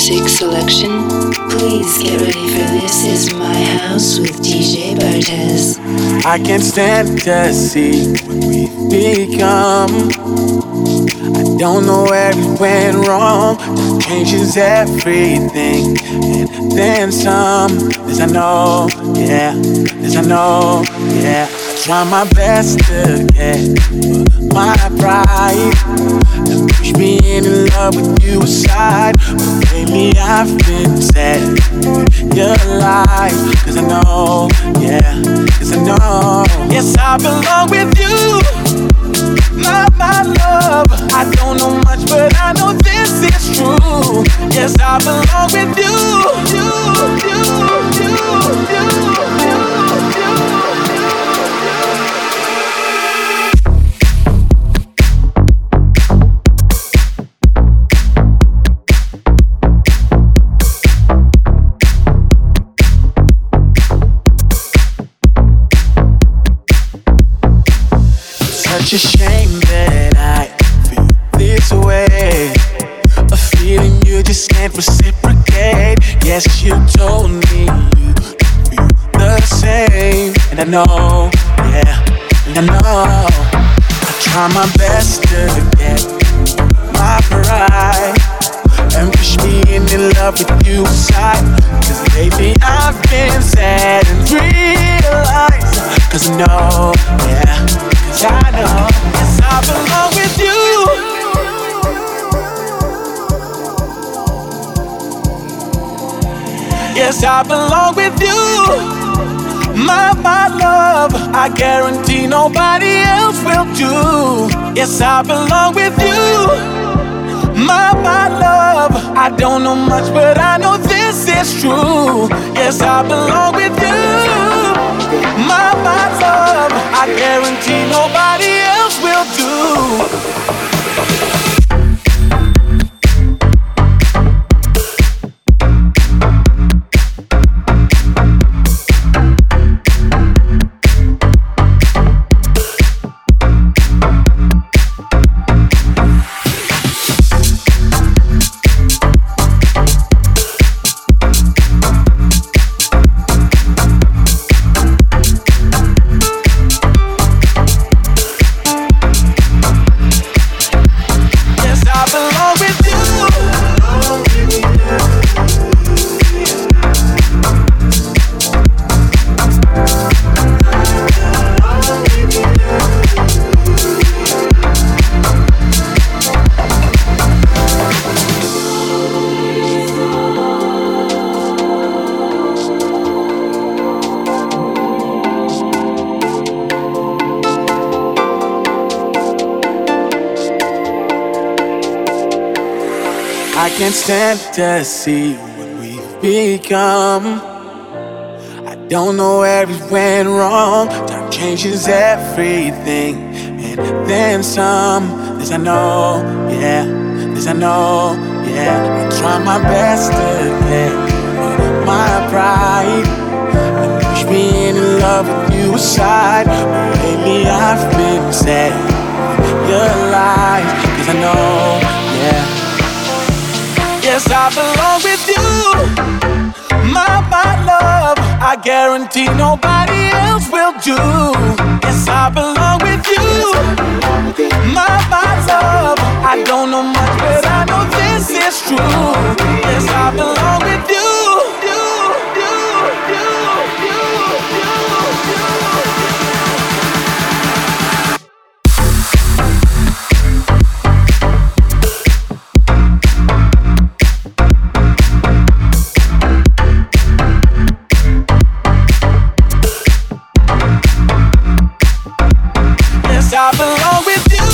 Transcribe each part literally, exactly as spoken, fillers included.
music selection. Please get ready for This Is My House with D J Bartez. I can't stand to see what we've become. I don't know where it went wrong. Time changes everything, and then some. This I know, yeah. This I know, yeah. I try my best to get my pride and push me in love with you aside. But lately I've been sad. You're alive, cause I know, yeah. Cause I know, yes, I belong with you. My, my love, I don't know much, but I know this is true. Yes, I belong with you. You, you, you, you, you, you. Such a shame that I feel this way. A feeling you just can't reciprocate. Yes, you told me you feel the same. And I know, yeah, and I know. I try my best to get my pride and push me in love with you aside. Cause lately I've been sad and realized. Cause I know, yeah. I know, yes, I belong with you. Yes, I belong with you. My, my love, I guarantee nobody else will do. Yes, I belong with you. My, my love, I don't know much, but I know this is true. Yes, I belong with you. My, my love, I guarantee nobody else will do. I can't stand to see what we've become. I don't know where it went wrong. Time changes everything, and then some. This I know, yeah. This I know, yeah. I try my best to get my pride and push me in love with you aside. But lately I've been sad. You're alive, cause I know, yeah. Yes, I belong with you. My, my love, I guarantee nobody else will do. Yes, I belong with you. My, my love, I don't know much, but I know this is true. Yes, I belong with you. You, you, you, you, you, you. I belong with you.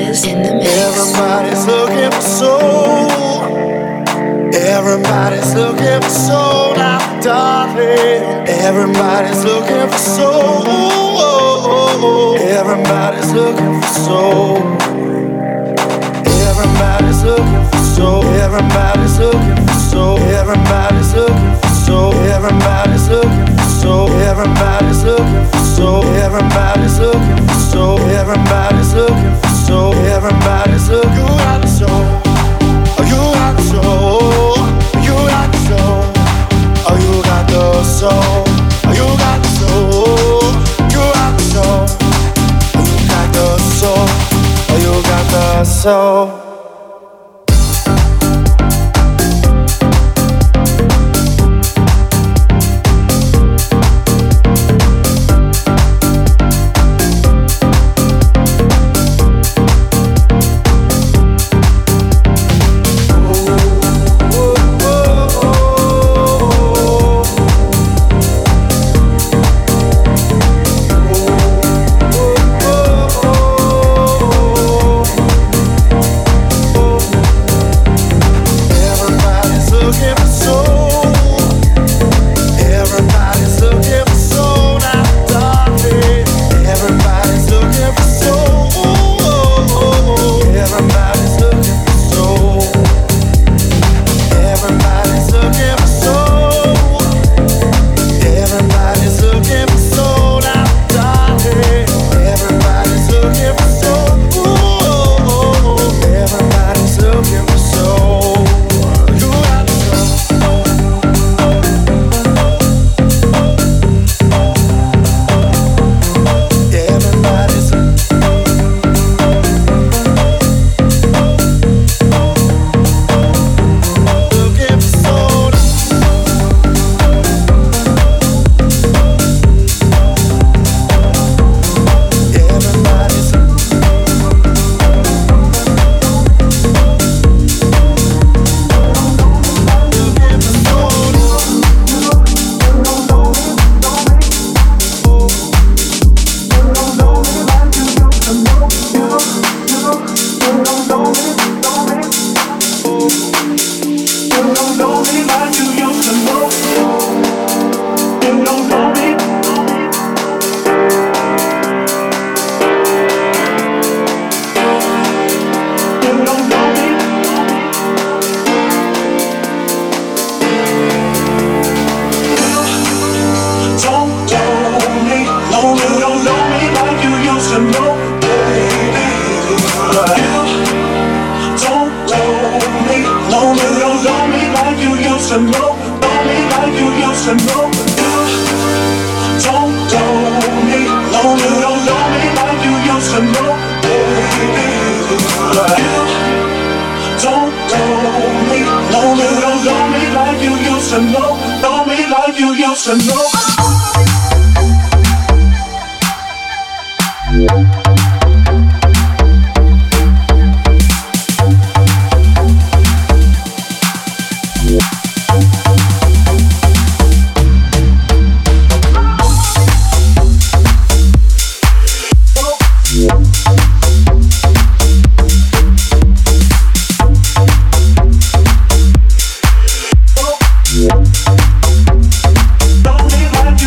is in the mix. Everybody's looking for soul. Everybody's looking for soul now, darling. Everybody's looking for soul. Everybody's looking for soul. Everybody's looking for soul. Everybody's looking for soul. Everybody's looking for soul. Everybody's looking for soul. Everybody's looking for soul. Everybody's looking for soul. Everybody's looking for soul. Everybody's looking. You got the soul. Oh, you got the soul. You got the soul. Oh, you got the soul. Oh, you got the soul. You got the soul. Oh, you got the soul. Oh, you got the soul. Don't be like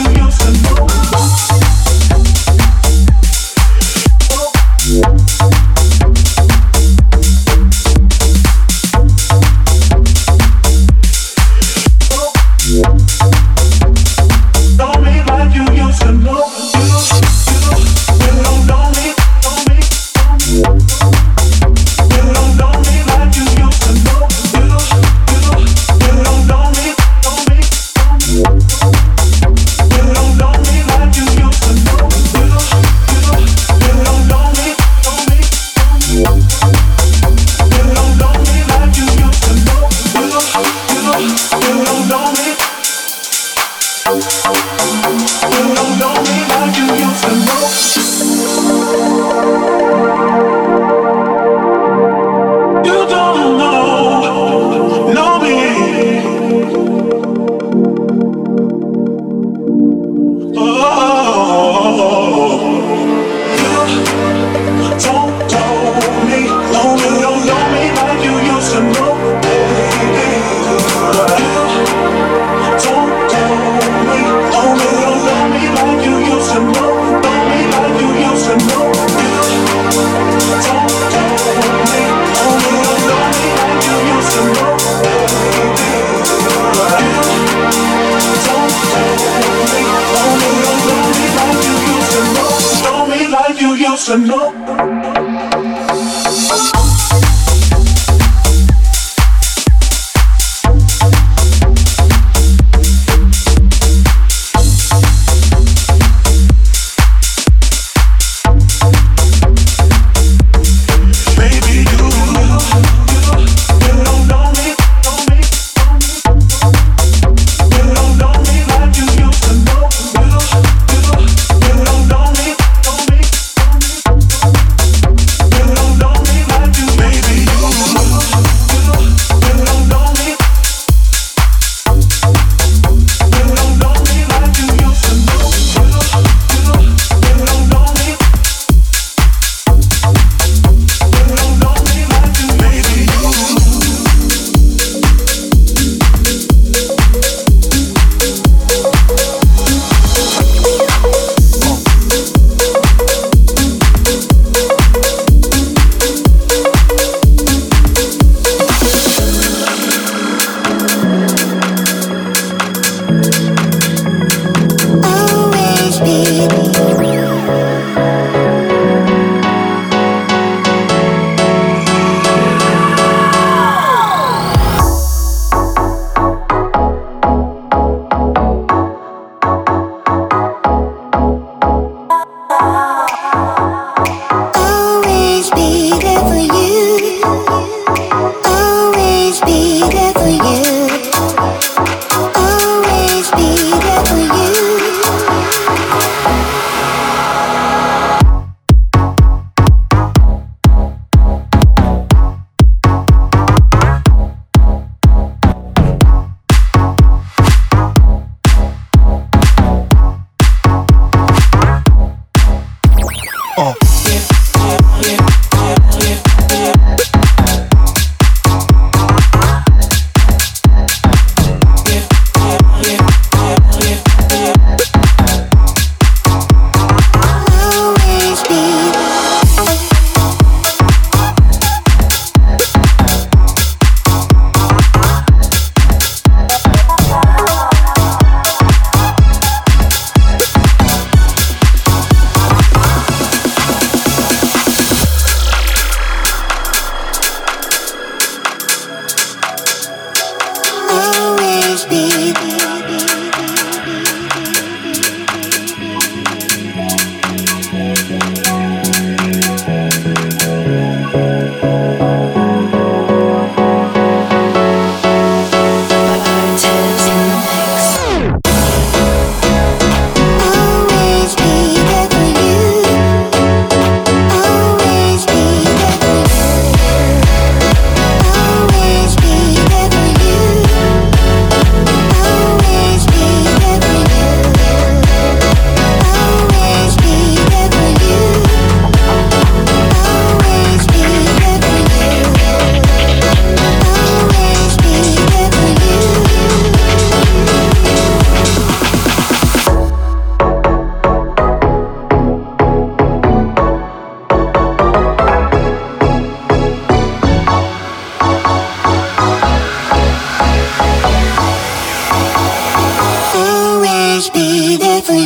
be there for you.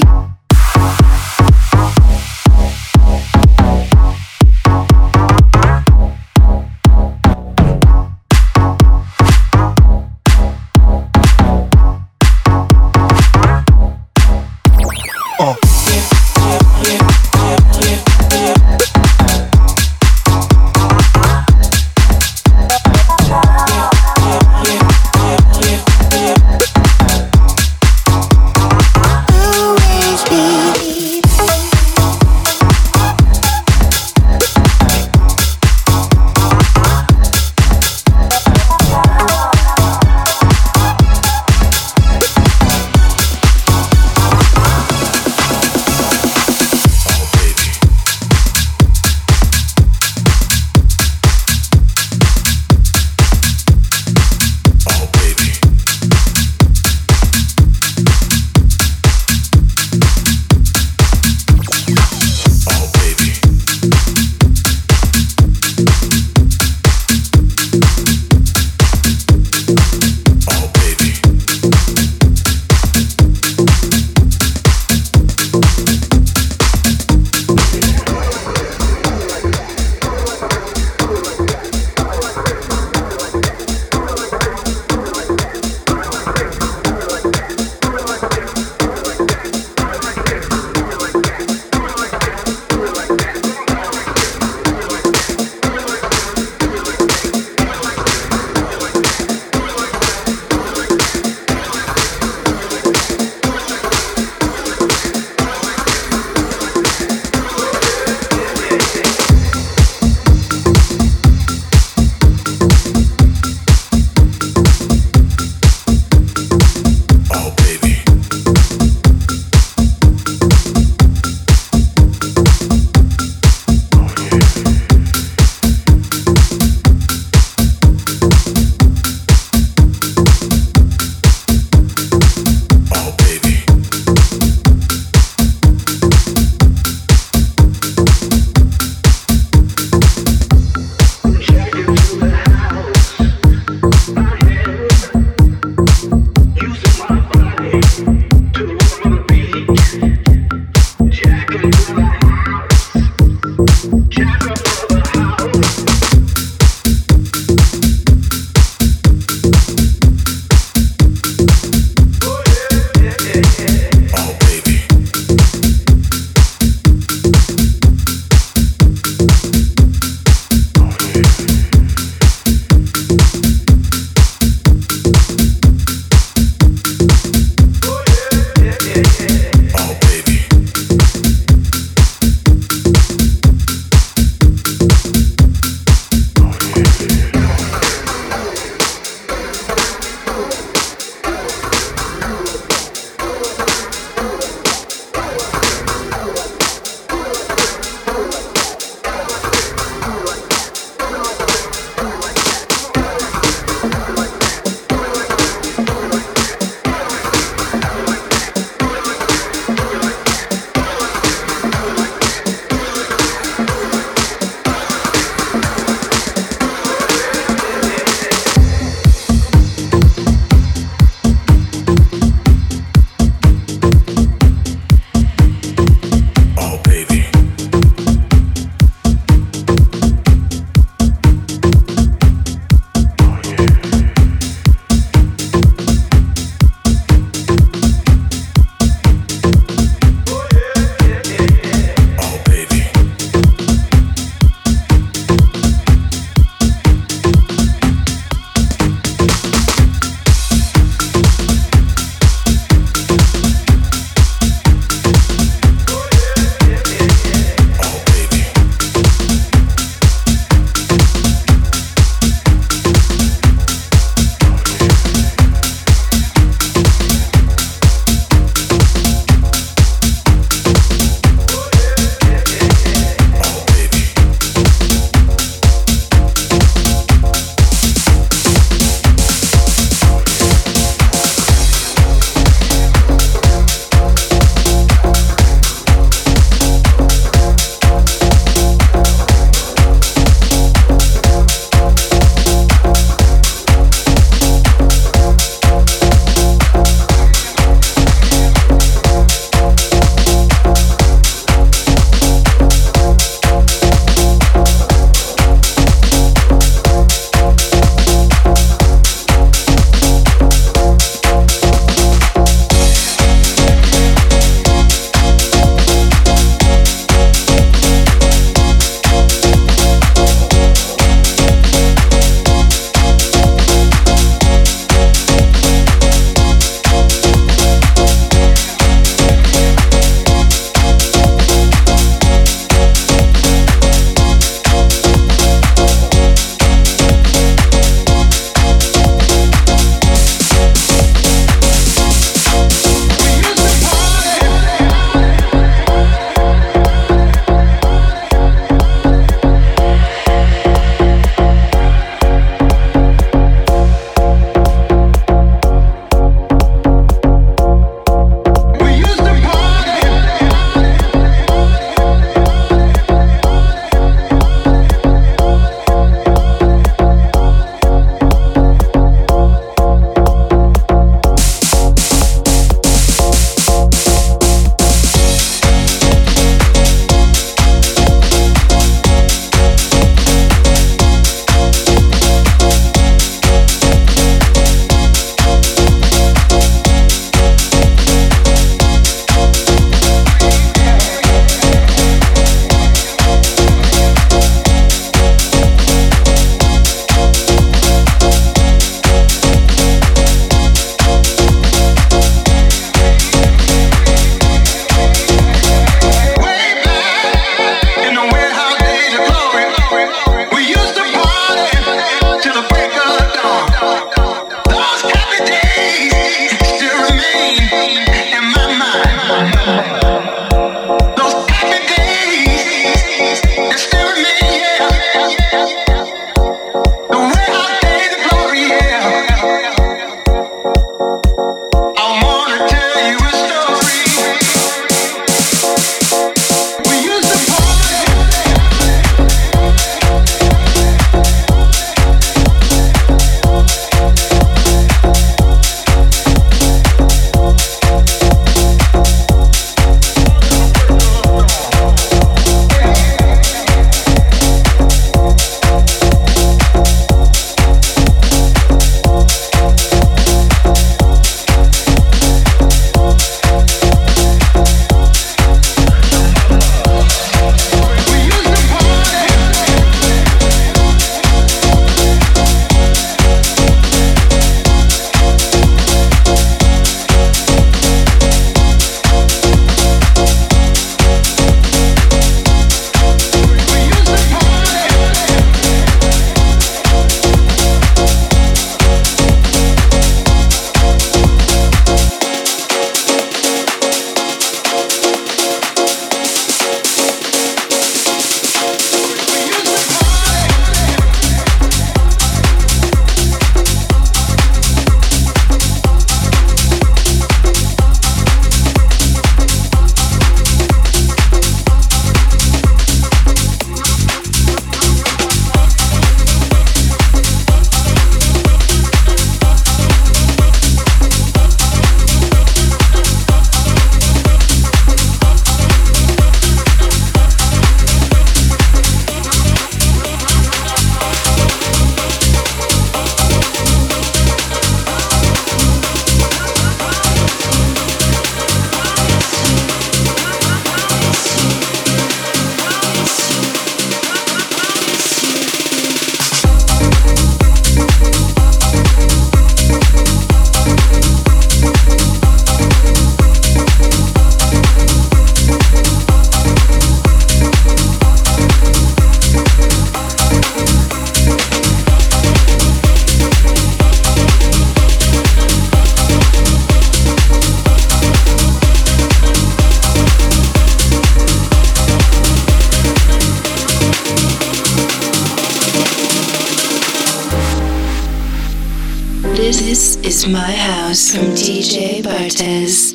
This is my house from D J Bartez.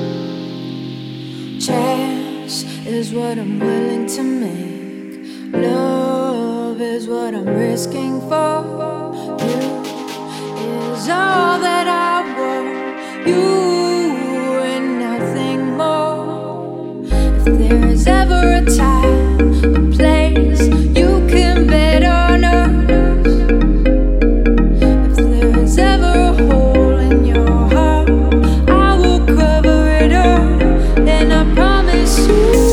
Chance is what I'm willing to make. Love is what I'm risking for. You is all that I want. You and nothing more. If there is ever a time, a place, you can bet on us. If there is ever a hole in your heart, I will cover it up, and I promise you.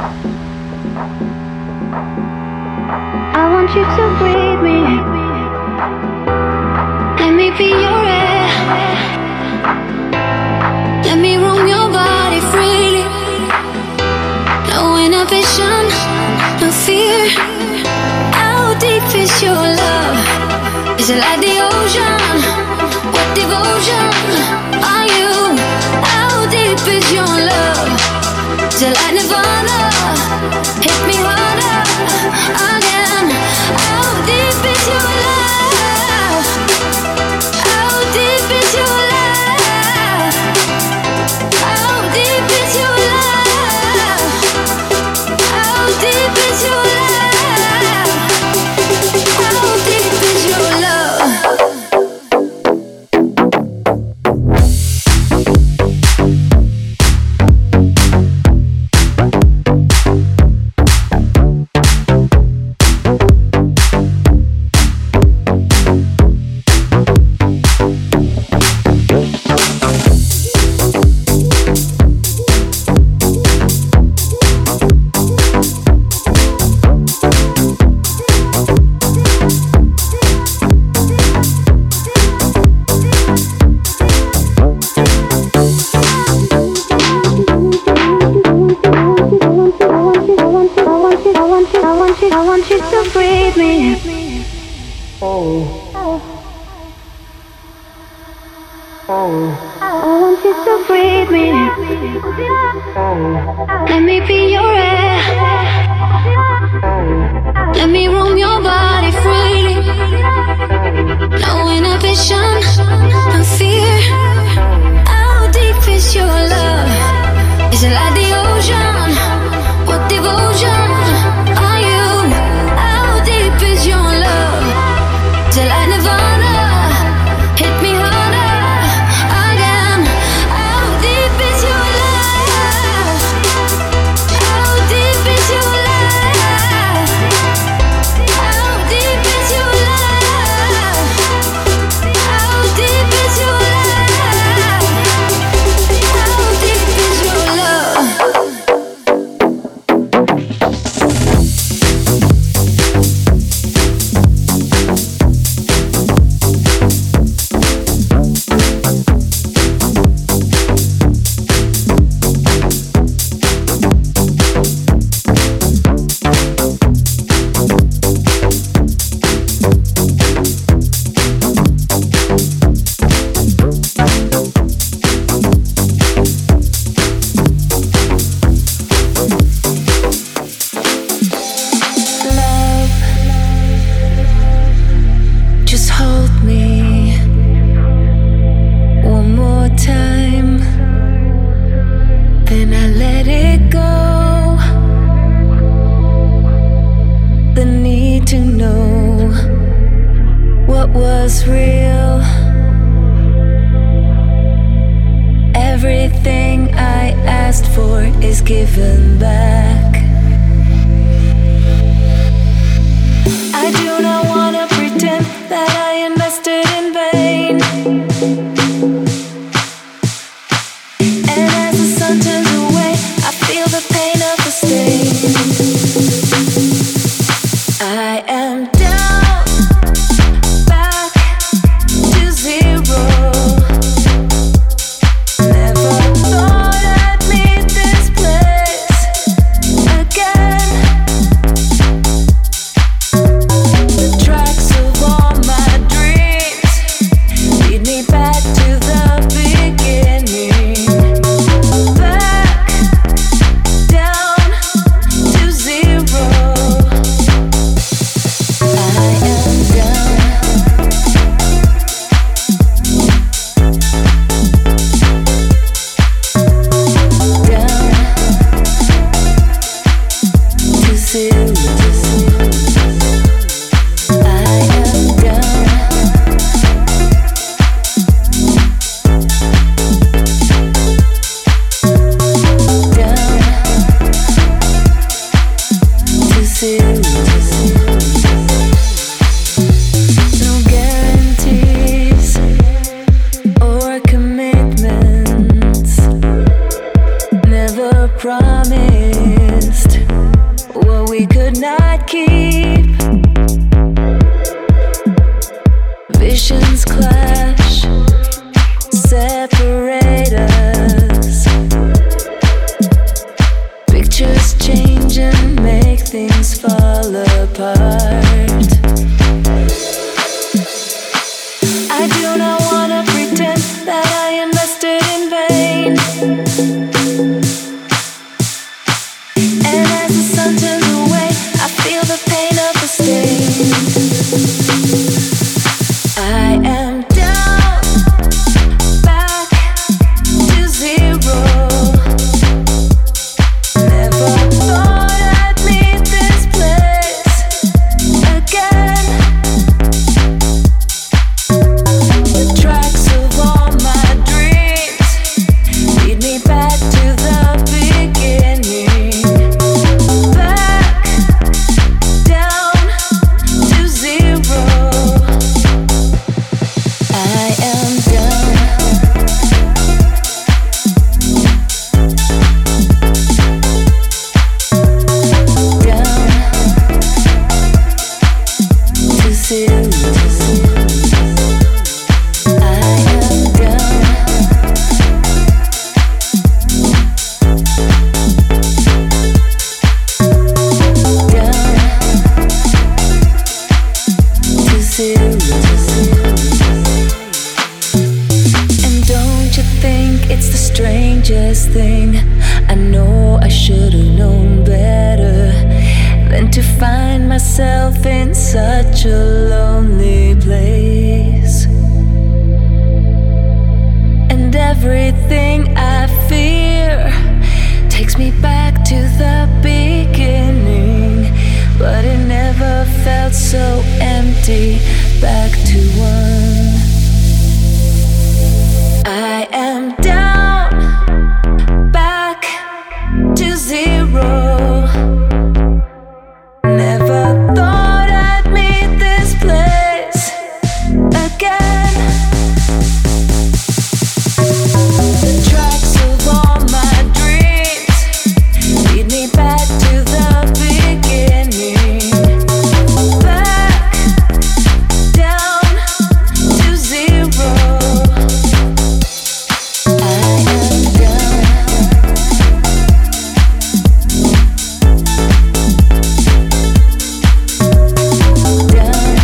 I want you to breathe me. Let me be your air. Let me roam your body freely. No inhibition, no fear. How deep is your love? Is it like the ocean? What devotion are you? How deep is your love? Is it like Nirvana? Hit me harder again. How deep is your love? How deep is your love? How deep is your love? How deep is your love? How deep is your love? Let me be your air. Let me roam your body freely. No inhibition, no fear. How deep is your love? Is it like the ocean? What devotion are you? How deep is your love? Is it like Nirvana? Hit me harder again. How deep is your love? How deep is your love? How deep is your love? How deep is your love? How deep is your love? promised what we could not keep. Visions clash, separate us. Pictures change and make things fall apart. I do not wanna pretend that I invested in vain. And as the sun turns away, I feel the pain of the stain. I am down, back to zero. Never thought I'd meet this place again. The tracks of all my dreams lead me back to the beginning. Back down to zero. I am down. Down to zero. I am down. Down to zero. And don't you think it's the strangest thing? I know I should've known better than to find myself in such a lonely place. And everything I fear takes me back to the beginning, but it never felt so empty. Back to one. I am down, back to zero. Never thought I'd meet this place again. The tracks of all my dreams lead me back to the beginning. Back down to zero. I am down. Down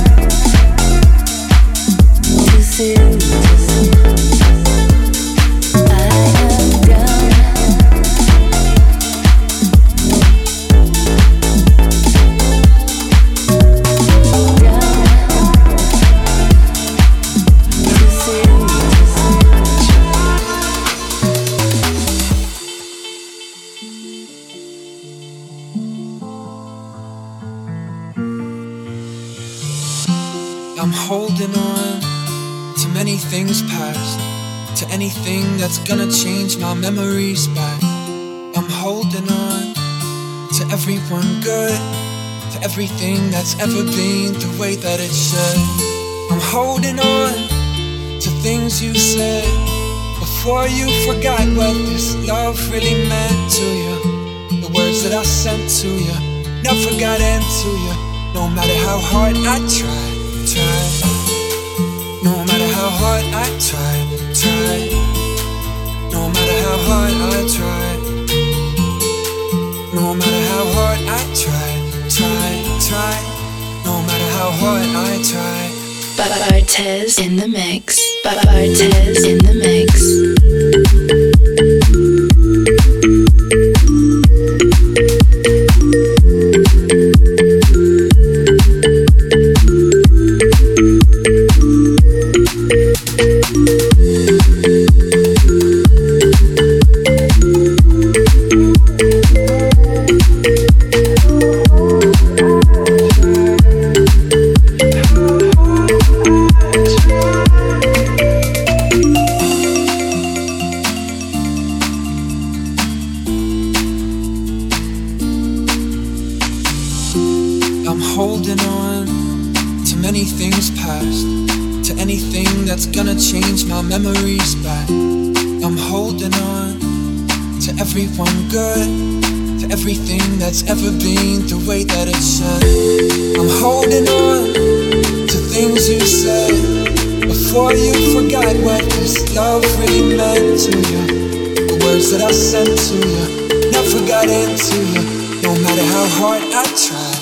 to zero. I am down. Down to zero. I'm holding on to many things past, to anything that's gonna change my memories back. I'm holding on to everyone good, to everything that's ever been the way that it should. I'm holding on to things you said before you forgot what this love really meant to you. The words that I sent to you never got into you. No matter how hard I tried, tried. No matter how hard I tried, tried. No matter how hard I tried. No matter how hard I tried, tried, tried. No matter how hard I tried. Bartez in the mix. Bartez in the mix. holding on to many things past, to anything that's gonna change my memories back. I'm holding on to everyone good, to for everything that's ever been the way that it should. I'm holding on to things you said before you forgot what this love really meant to you. The words that I sent to you never got into you, no matter how hard I tried.